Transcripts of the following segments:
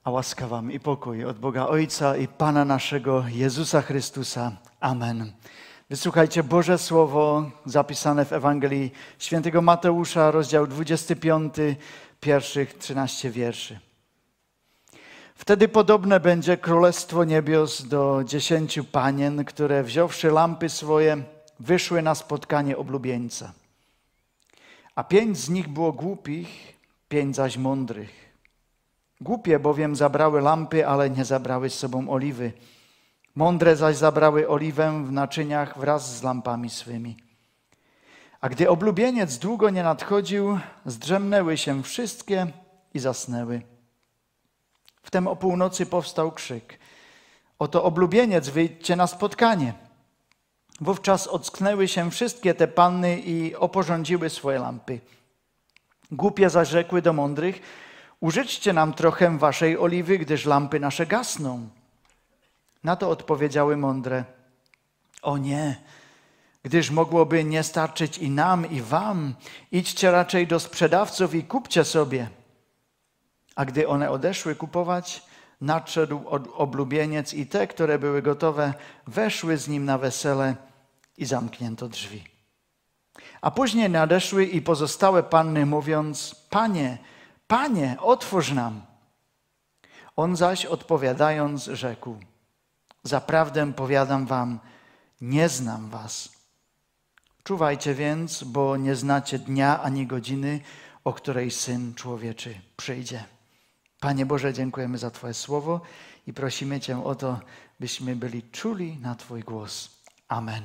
A łaska wam i pokój od Boga Ojca i Pana naszego Jezusa Chrystusa. Amen. Wysłuchajcie Boże Słowo zapisane w Ewangelii Świętego Mateusza, rozdział 25, pierwszych 13 wierszy. Wtedy podobne będzie Królestwo Niebios do 10 panien, które wziąwszy lampy swoje, wyszły na spotkanie oblubieńca. A 5 z nich było głupich, 5 zaś mądrych. Głupie bowiem zabrały lampy, ale nie zabrały z sobą oliwy. Mądre zaś zabrały oliwę w naczyniach wraz z lampami swymi. A gdy oblubieniec długo nie nadchodził, zdrzemnęły się wszystkie i zasnęły. Wtem o północy powstał krzyk. Oto oblubieniec, wyjdźcie na spotkanie. Wówczas ocknęły się wszystkie te panny i oporządziły swoje lampy. Głupie zaś rzekły do mądrych: użyczcie nam trochę waszej oliwy, gdyż lampy nasze gasną. Na to odpowiedziały mądre: o nie, gdyż mogłoby nie starczyć i nam, i wam. Idźcie raczej do sprzedawców i kupcie sobie. A gdy one odeszły kupować, nadszedł oblubieniec i te, które były gotowe, weszły z nim na wesele i zamknięto drzwi. A później nadeszły i pozostałe panny, mówiąc: Panie, Panie, otwórz nam. On zaś odpowiadając rzekł: zaprawdę powiadam wam, nie znam was. Czuwajcie więc, bo nie znacie dnia ani godziny, o której Syn Człowieczy przyjdzie. Panie Boże, dziękujemy za Twoje słowo i prosimy Cię o to, byśmy byli czuli na Twój głos. Amen.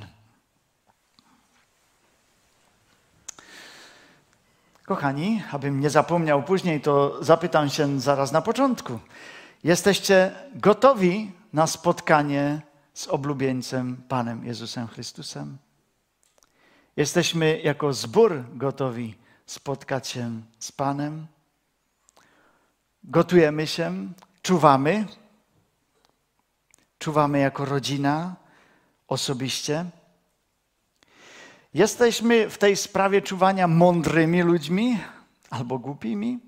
Kochani, abym nie zapomniał później, to zapytam się zaraz na początku. Jesteście gotowi na spotkanie z oblubieńcem Panem Jezusem Chrystusem? Jesteśmy jako zbór gotowi spotkać się z Panem? Gotujemy się, czuwamy. Czuwamy jako rodzina, osobiście. Jesteśmy w tej sprawie czuwania mądrymi ludźmi albo głupimi?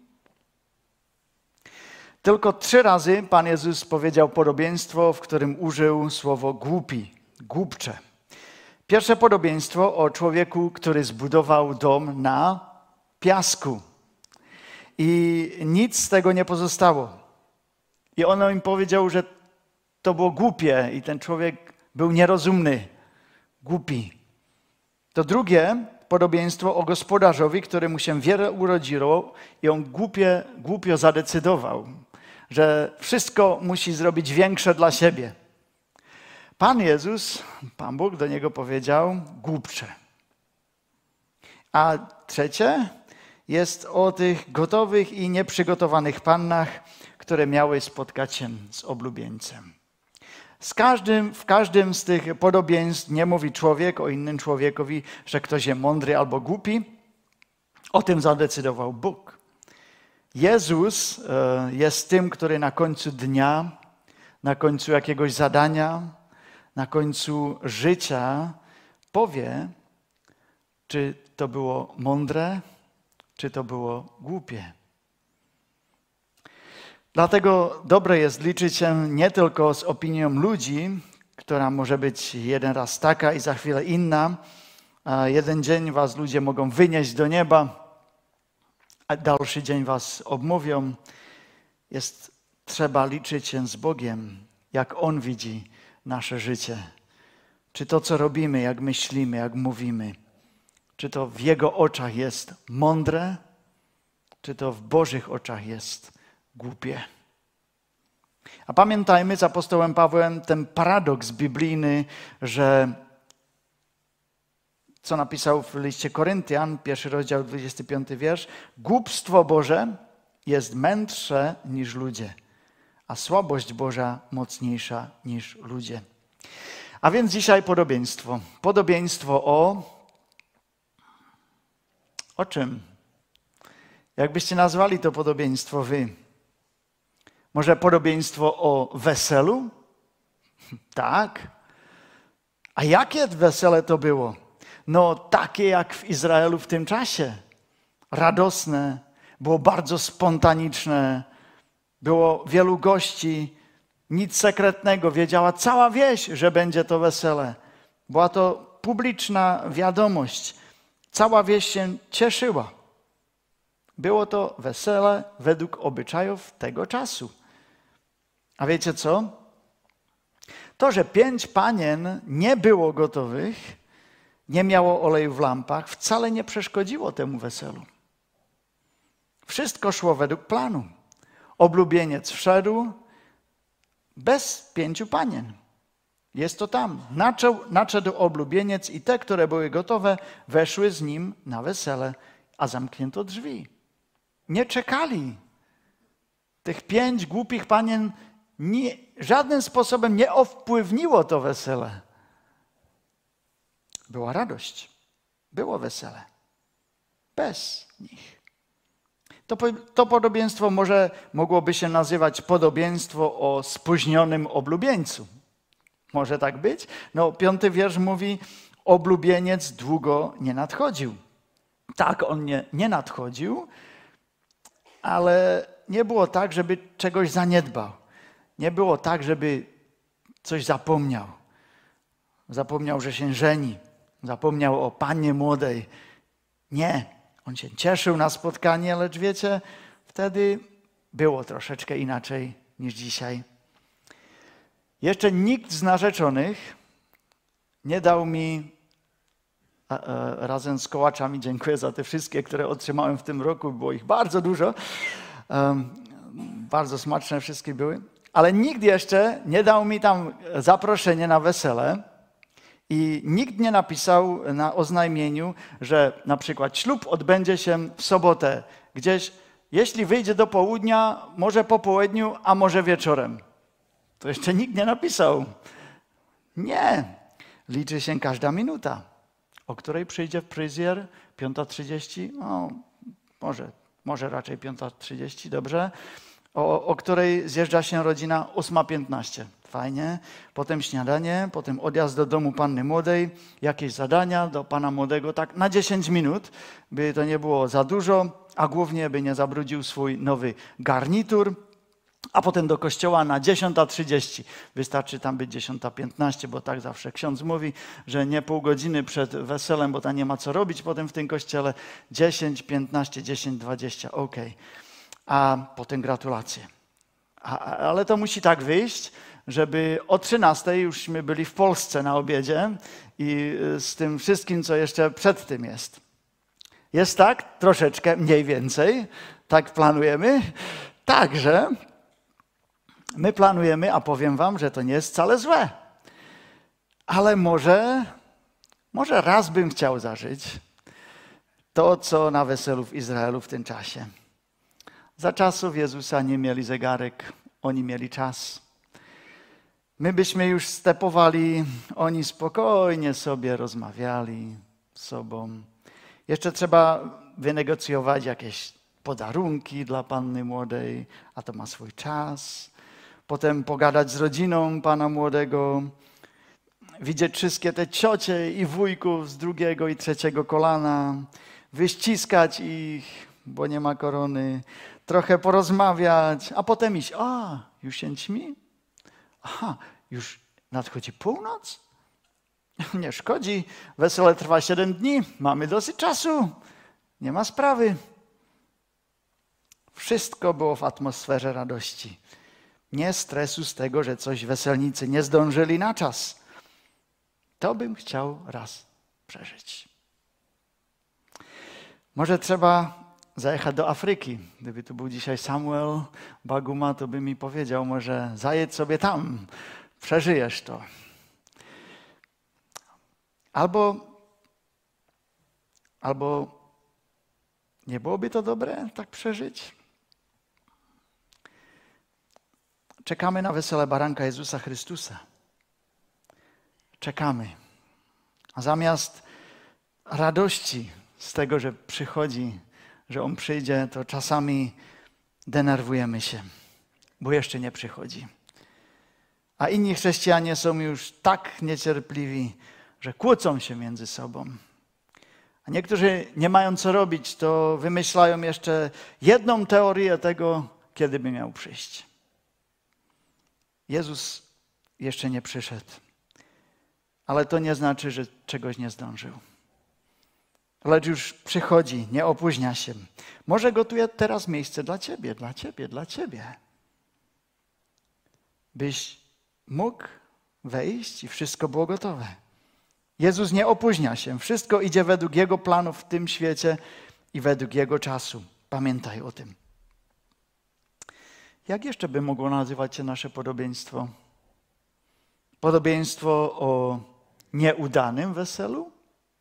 Tylko 3 razy Pan Jezus powiedział podobieństwo, w którym użył słowo głupi, głupcze. Pierwsze podobieństwo o człowieku, który zbudował dom na piasku. I nic z tego nie pozostało. I on im powiedział, że to było głupie i ten człowiek był nierozumny, głupi. To drugie podobieństwo o gospodarzowi, któremu się wiele urodziło i on głupio zadecydował, że wszystko musi zrobić większe dla siebie. Pan Jezus, Pan Bóg do niego powiedział: głupcze. A trzecie jest o tych gotowych i nieprzygotowanych pannach, które miały spotkać się z oblubieńcem. W każdym z tych podobieństw nie mówi człowiek o innym człowiekowi, że ktoś jest mądry albo głupi. O tym zadecydował Bóg. Jezus jest tym, który na końcu dnia, na końcu jakiegoś zadania, na końcu życia powie, czy to było mądre, czy to było głupie. Dlatego dobre jest liczyć się nie tylko z opinią ludzi, która może być jeden raz taka i za chwilę inna. A jeden dzień was ludzie mogą wynieść do nieba, a dalszy dzień was obmówią. Trzeba liczyć się z Bogiem, jak On widzi nasze życie. Czy to, co robimy, jak myślimy, jak mówimy, czy to w Jego oczach jest mądre, czy to w Bożych oczach jest głupie. A pamiętajmy z apostołem Pawłem ten paradoks biblijny, że co napisał w liście Koryntian, 1 rozdział, 25 wiersz, głupstwo Boże jest mędrsze niż ludzie, a słabość Boża mocniejsza niż ludzie. A więc dzisiaj podobieństwo. Podobieństwo o czym? Jakbyście nazwali to podobieństwo wy? Może podobieństwo o weselu? Tak. A jakie wesele to było? No takie jak w Izraelu w tym czasie. Radosne, było bardzo spontaniczne. Było wielu gości, nic sekretnego. Wiedziała cała wieś, że będzie to wesele. Była to publiczna wiadomość. Cała wieś się cieszyła. Było to wesele według obyczajów tego czasu. A wiecie co? To, że 5 panien nie było gotowych, nie miało oleju w lampach, wcale nie przeszkodziło temu weselu. Wszystko szło według planu. Oblubieniec wszedł bez 5 panien. Jest to tam. Nadszedł oblubieniec i te, które były gotowe, weszły z nim na wesele, a zamknięto drzwi. Nie czekali. Tych 5 głupich panien żadnym sposobem nie wpływniło to wesele. Była radość. Było wesele. Bez nich. To podobieństwo mogłoby się nazywać podobieństwo o spóźnionym oblubieńcu. Może tak być? 5. wiersz mówi, oblubieniec długo nie nadchodził. Tak, on nie nadchodził, ale nie było tak, żeby czegoś zaniedbał. Nie było tak, żeby coś zapomniał. Zapomniał, że się żeni. Zapomniał o pannie młodej. Nie. On się cieszył na spotkanie, lecz wiecie, wtedy było troszeczkę inaczej niż dzisiaj. Jeszcze nikt z narzeczonych nie dał mi, razem z kołaczami, dziękuję za te wszystkie, które otrzymałem w tym roku, było ich bardzo dużo, bardzo smaczne wszystkie były, ale nikt jeszcze nie dał mi tam zaproszenie na wesele i nikt nie napisał na oznajmieniu, że na przykład ślub odbędzie się w sobotę gdzieś, jeśli wyjdzie do południa, może po południu, a może wieczorem. To jeszcze nikt nie napisał. Nie. Liczy się każda minuta. O której przyjdzie fryzjer? 5:30? No, może raczej 5:30, dobrze. O której zjeżdża się rodzina? 8:15. Fajnie. Potem śniadanie, potem odjazd do domu panny młodej, jakieś zadania do pana młodego, tak na 10 minut, by to nie było za dużo, a głównie by nie zabrudził swój nowy garnitur. A potem do kościoła na 10:30. Wystarczy tam być 10:15, bo tak zawsze ksiądz mówi, że nie pół godziny przed weselem, bo tam nie ma co robić potem w tym kościele. 10:15, 10:20, okej. A potem gratulacje. Ale to musi tak wyjść, żeby o 13:00 jużśmy byli w Polsce na obiedzie i z tym wszystkim, co jeszcze przed tym jest. Jest tak? Troszeczkę, mniej więcej. Tak planujemy. Także my planujemy, a powiem wam, że to nie jest wcale złe. Ale może raz bym chciał zażyć to, co na weselu w Izraelu w tym czasie. Za czasów Jezusa nie mieli zegarek, oni mieli czas. My byśmy już stepowali, oni spokojnie sobie rozmawiali z sobą. Jeszcze trzeba wynegocjować jakieś podarunki dla panny młodej, a to ma swój czas. Potem pogadać z rodziną pana młodego, widzieć wszystkie te ciocie i wujków z 2. i 3. kolana, wyściskać ich, bo nie ma korony, trochę porozmawiać, a potem iść. Już się ćmi? Aha, już nadchodzi północ? Nie szkodzi, wesele trwa 7 dni, mamy dosyć czasu, nie ma sprawy. Wszystko było w atmosferze radości. Nie stresu z tego, że coś weselnicy nie zdążyli na czas. To bym chciał raz przeżyć. Może trzeba zajechać do Afryki. Gdyby tu był dzisiaj Samuel Baguma, to by mi powiedział, może zajedź sobie tam, przeżyjesz to. Albo nie byłoby to dobre tak przeżyć? Czekamy na wesele baranka Jezusa Chrystusa. Czekamy. A zamiast radości z tego, że przychodzi, że On przyjdzie, to czasami denerwujemy się, bo jeszcze nie przychodzi. A inni chrześcijanie są już tak niecierpliwi, że kłócą się między sobą. A niektórzy nie mają co robić, to wymyślają jeszcze jedną teorię tego, kiedy by miał przyjść. Jezus jeszcze nie przyszedł, ale to nie znaczy, że czegoś nie zdążył. Lecz już przychodzi, nie opóźnia się. Może gotuje teraz miejsce dla ciebie, dla ciebie, dla ciebie. Byś mógł wejść i wszystko było gotowe. Jezus nie opóźnia się. Wszystko idzie według Jego planu w tym świecie i według Jego czasu. Pamiętaj o tym. Jak jeszcze by mogło nazywać się nasze podobieństwo? Podobieństwo o nieudanym weselu?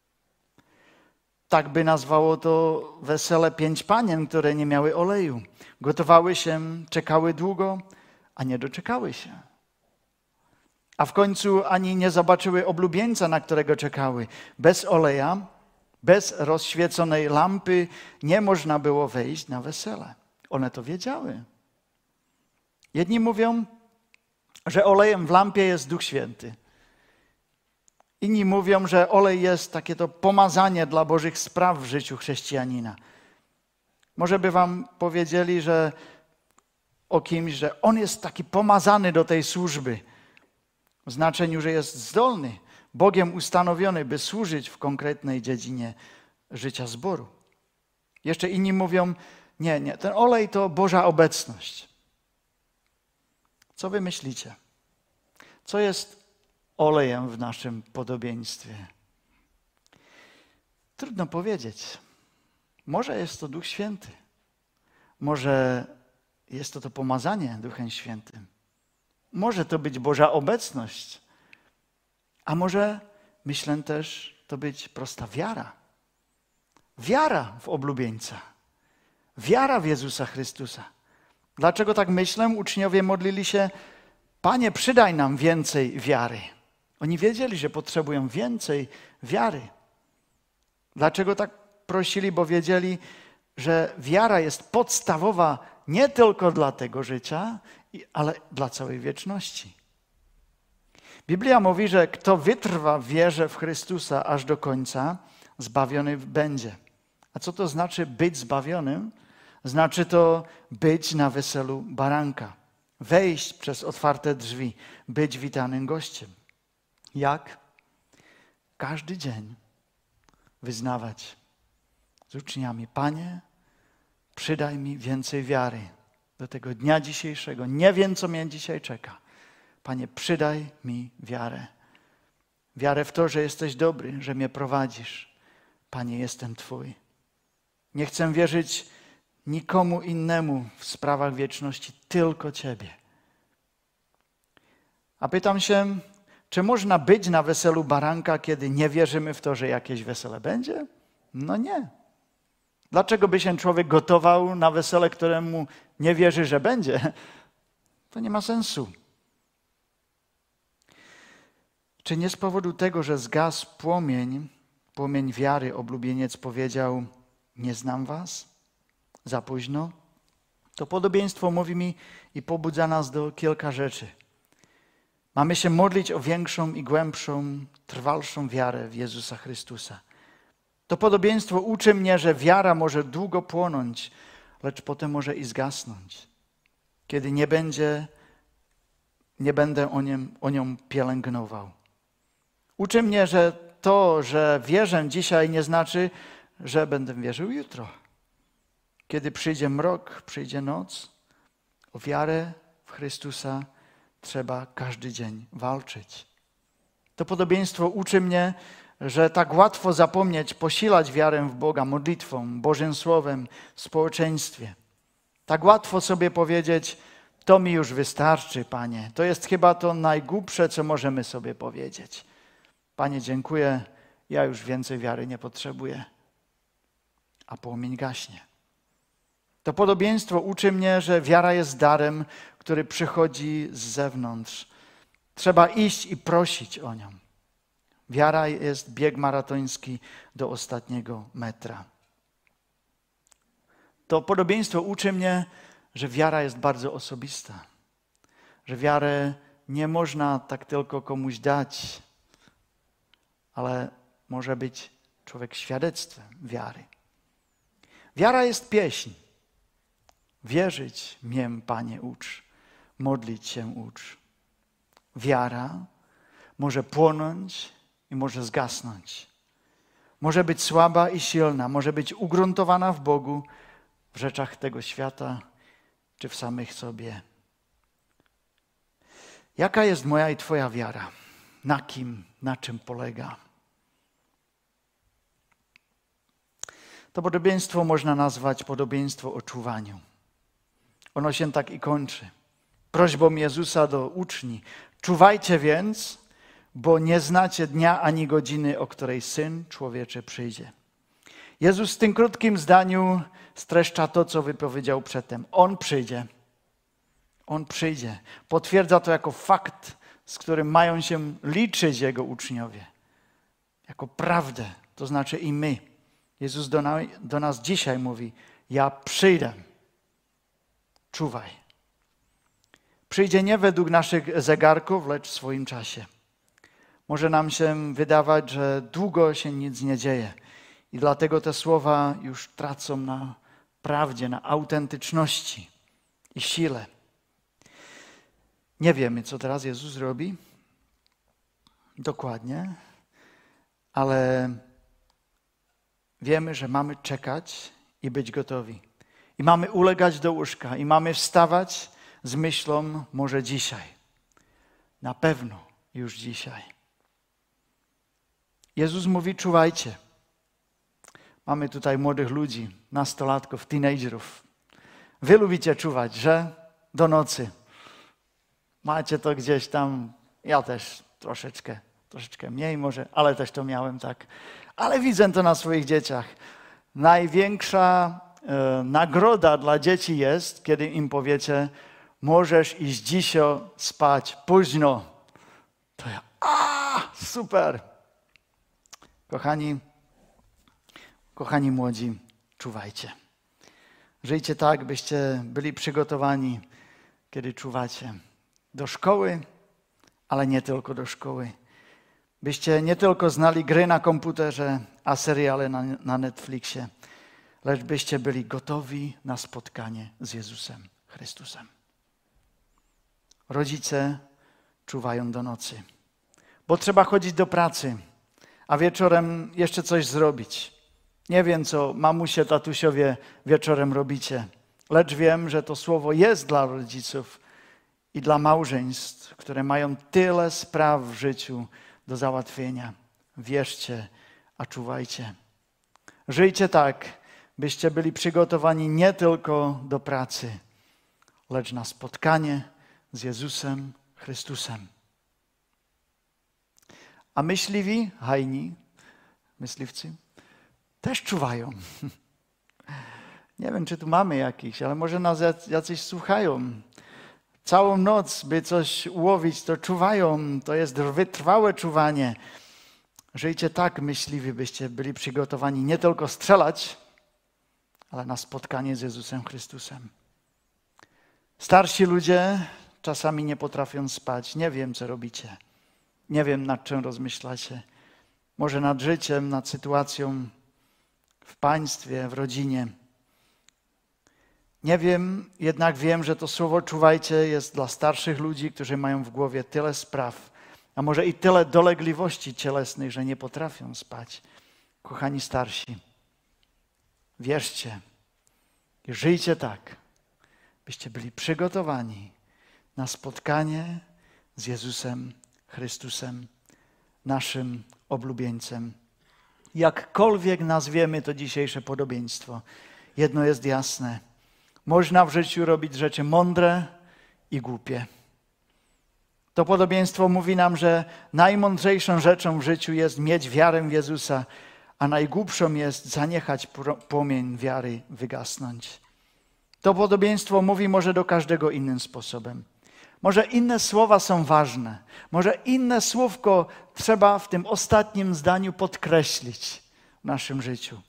Tak by nazwało to wesele 5 panien, które nie miały oleju. Gotowały się, czekały długo, a nie doczekały się. A w końcu ani nie zobaczyły oblubieńca, na którego czekały. Bez oleja, bez rozświeconej lampy nie można było wejść na wesele. One to wiedziały. Jedni mówią, że olejem w lampie jest Duch Święty. Inni mówią, że olej jest takie to pomazanie dla Bożych spraw w życiu chrześcijanina. Może by wam powiedzieli, że o kimś, że on jest taki pomazany do tej służby. W znaczeniu, że jest zdolny, Bogiem ustanowiony, by służyć w konkretnej dziedzinie życia zboru. Jeszcze inni mówią, nie, ten olej to Boża obecność. Co wy myślicie? Co jest olejem w naszym podobieństwie? Trudno powiedzieć. Może jest to Duch Święty. Może jest to pomazanie Duchem Świętym. Może to być Boża obecność. A może, myślę też, to być prosta wiara. Wiara w oblubieńca. Wiara w Jezusa Chrystusa. Dlaczego tak myślę? Uczniowie modlili się, Panie, przydaj nam więcej wiary. Oni wiedzieli, że potrzebują więcej wiary. Dlaczego tak prosili? Bo wiedzieli, że wiara jest podstawowa nie tylko dla tego życia, ale dla całej wieczności. Biblia mówi, że kto wytrwa w wierze w Chrystusa aż do końca, zbawiony będzie. A co to znaczy być zbawionym? Znaczy to być na weselu baranka. Wejść przez otwarte drzwi, być witanym gościem. Jak? Każdy dzień wyznawać z uczniami, Panie, przydaj mi więcej wiary do tego dnia dzisiejszego. Nie wiem, co mnie dzisiaj czeka. Panie, przydaj mi wiarę. Wiarę w to, że jesteś dobry, że mnie prowadzisz. Panie, jestem Twój. Nie chcę wierzyć nikomu innemu w sprawach wieczności, tylko Ciebie. A pytam się, czy można być na weselu baranka, kiedy nie wierzymy w to, że jakieś wesele będzie? No nie. Dlaczego by się człowiek gotował na wesele, któremu nie wierzy, że będzie? To nie ma sensu. Czy nie z powodu tego, że zgasł płomień wiary, oblubieniec powiedział, nie znam was? Za późno? To podobieństwo mówi mi i pobudza nas do kilka rzeczy. Mamy się modlić o większą i głębszą, trwalszą wiarę w Jezusa Chrystusa. To podobieństwo uczy mnie, że wiara może długo płonąć, lecz potem może i zgasnąć. Kiedy nie będę o nią pielęgnował. Uczy mnie, że to, że wierzę dzisiaj, nie znaczy, że będę wierzył jutro. Kiedy przyjdzie mrok, przyjdzie noc, o wiarę w Chrystusa trzeba każdy dzień walczyć. To podobieństwo uczy mnie, że tak łatwo zapomnieć, posilać wiarę w Boga modlitwą, Bożym Słowem, w społeczeństwie. Tak łatwo sobie powiedzieć, to mi już wystarczy, Panie. To jest chyba to najgłupsze, co możemy sobie powiedzieć. Panie, dziękuję, ja już więcej wiary nie potrzebuję. A płomień gaśnie. To podobieństwo uczy mnie, że wiara jest darem, który przychodzi z zewnątrz. Trzeba iść i prosić o nią. Wiara jest bieg maratoński do ostatniego metra. To podobieństwo uczy mnie, że wiara jest bardzo osobista. Że wiarę nie można tak tylko komuś dać, ale może być człowiek świadectwem wiary. Wiara jest pieśń. Wierzyć mię, Panie, ucz. Modlić się ucz. Wiara może płonąć i może zgasnąć. Może być słaba i silna, może być ugruntowana w Bogu, w rzeczach tego świata, czy w samych sobie. Jaka jest moja i Twoja wiara? Na kim, na czym polega? To podobieństwo można nazwać podobieństwo o czuwaniu. Ono się tak i kończy. Prośbą Jezusa do uczni. Czuwajcie więc, bo nie znacie dnia ani godziny, o której Syn Człowieczy przyjdzie. Jezus w tym krótkim zdaniu streszcza to, co wypowiedział przedtem. On przyjdzie. On przyjdzie. Potwierdza to jako fakt, z którym mają się liczyć Jego uczniowie. Jako prawdę, to znaczy i my. Jezus do nas dzisiaj mówi, ja przyjdę. Czuwaj. Przyjdzie nie według naszych zegarków, lecz w swoim czasie. Może nam się wydawać, że długo się nic nie dzieje i dlatego te słowa już tracą na prawdzie, na autentyczności i sile. Nie wiemy, co teraz Jezus robi dokładnie, ale wiemy, że mamy czekać i być gotowi. I mamy ulegać do łóżka i mamy wstawać z myślą może dzisiaj. Na pewno już dzisiaj. Jezus mówi, czuwajcie. Mamy tutaj młodych ludzi, nastolatków, teenagerów. Wy lubicie czuwać, że? Do nocy. Macie to gdzieś tam, ja też troszeczkę mniej może, ale też to miałem tak. Ale widzę to na swoich dzieciach. Największa nagroda dla dzieci jest, kiedy im powiecie, możesz iść dzisiaj spać późno. To ja, super. Kochani młodzi, czuwajcie. Żyjcie tak, byście byli przygotowani, kiedy czuwacie. Do szkoły, ale nie tylko do szkoły. Byście nie tylko znali gry na komputerze, a seriale na Netflixie, lecz byście byli gotowi na spotkanie z Jezusem Chrystusem. Rodzice czuwają do nocy, bo trzeba chodzić do pracy, a wieczorem jeszcze coś zrobić. Nie wiem, co mamusie, tatusiowie wieczorem robicie, lecz wiem, że to słowo jest dla rodziców i dla małżeństw, które mają tyle spraw w życiu do załatwienia. Wierzcie, a czuwajcie. Żyjcie tak, byście byli przygotowani nie tylko do pracy, lecz na spotkanie z Jezusem Chrystusem. A myśliwi, hajni, myśliwcy, też czuwają. Nie wiem, czy tu mamy jakichś, ale może nas jacyś słuchają. Całą noc, by coś ułowić, to czuwają. To jest wytrwałe czuwanie. Żyjcie tak, myśliwi, byście byli przygotowani nie tylko strzelać, ale na spotkanie z Jezusem Chrystusem. Starsi ludzie czasami nie potrafią spać. Nie wiem, co robicie. Nie wiem, nad czym rozmyślacie. Może nad życiem, nad sytuacją w państwie, w rodzinie. Nie wiem, jednak wiem, że to słowo czuwajcie jest dla starszych ludzi, którzy mają w głowie tyle spraw, a może i tyle dolegliwości cielesnych, że nie potrafią spać. Kochani starsi, wierzcie i żyjcie tak, byście byli przygotowani na spotkanie z Jezusem Chrystusem, naszym oblubieńcem. Jakkolwiek nazwiemy to dzisiejsze podobieństwo, jedno jest jasne. Można w życiu robić rzeczy mądre i głupie. To podobieństwo mówi nam, że najmądrzejszą rzeczą w życiu jest mieć wiarę w Jezusa, a najgłupszą jest zaniechać płomień wiary wygasnąć. To podobieństwo mówi może do każdego innym sposobem. Może inne słowa są ważne. Może inne słówko trzeba w tym ostatnim zdaniu podkreślić w naszym życiu.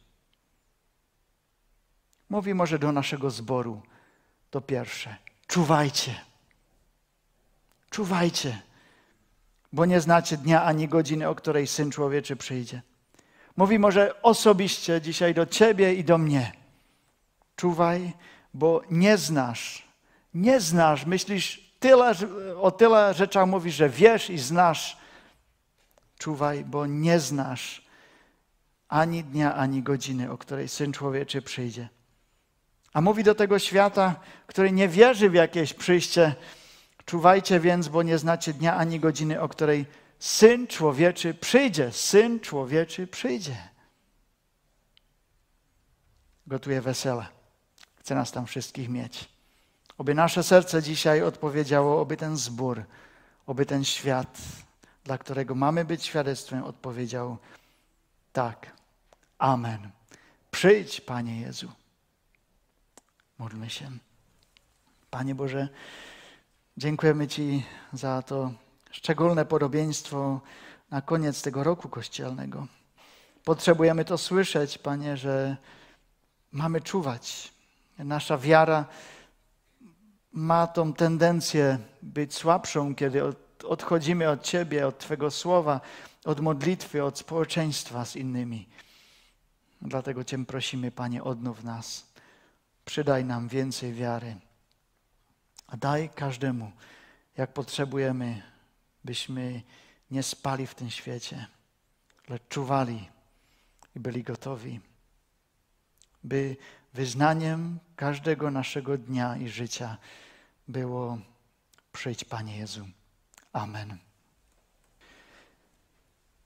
Mówi może do naszego zboru to pierwsze. Czuwajcie. Czuwajcie, bo nie znacie dnia ani godziny, o której Syn Człowieczy przyjdzie. Mówi może osobiście dzisiaj do ciebie i do mnie. Czuwaj, bo nie znasz. Nie znasz, myślisz, o tyle rzeczach mówisz, że wiesz i znasz. Czuwaj, bo nie znasz ani dnia, ani godziny, o której Syn Człowieczy przyjdzie. A mówi do tego świata, który nie wierzy w jakieś przyjście: czuwajcie więc, bo nie znacie dnia ani godziny, o której Syn Człowieczy przyjdzie. Syn Człowieczy przyjdzie. Gotuje wesele. Chce nas tam wszystkich mieć. Oby nasze serce dzisiaj odpowiedziało, oby ten zbór, oby ten świat, dla którego mamy być świadectwem, odpowiedział: tak. Amen. Przyjdź, Panie Jezu. Módlmy się. Panie Boże, dziękujemy Ci za to szczególne podobieństwo na koniec tego roku kościelnego. Potrzebujemy to słyszeć, Panie, że mamy czuwać. Nasza wiara ma tą tendencję być słabszą, kiedy odchodzimy od Ciebie, od Twego słowa, od modlitwy, od społeczeństwa z innymi. Dlatego Cię prosimy, Panie, odnów nas. Przydaj nam więcej wiary. A daj każdemu, jak potrzebujemy, byśmy nie spali w tym świecie, lecz czuwali i byli gotowi, by wyznaniem każdego naszego dnia i życia było: przyjdź, Panie Jezu. Amen.